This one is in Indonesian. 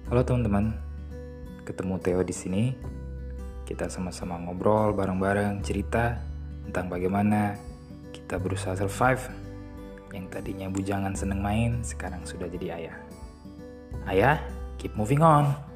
Halo teman-teman, ketemu Theo di sini. Kita sama-sama ngobrol bareng-bareng, cerita tentang bagaimana kita berusaha survive. Yang tadinya bujangan seneng main, sekarang sudah jadi ayah. Ayah, keep moving on.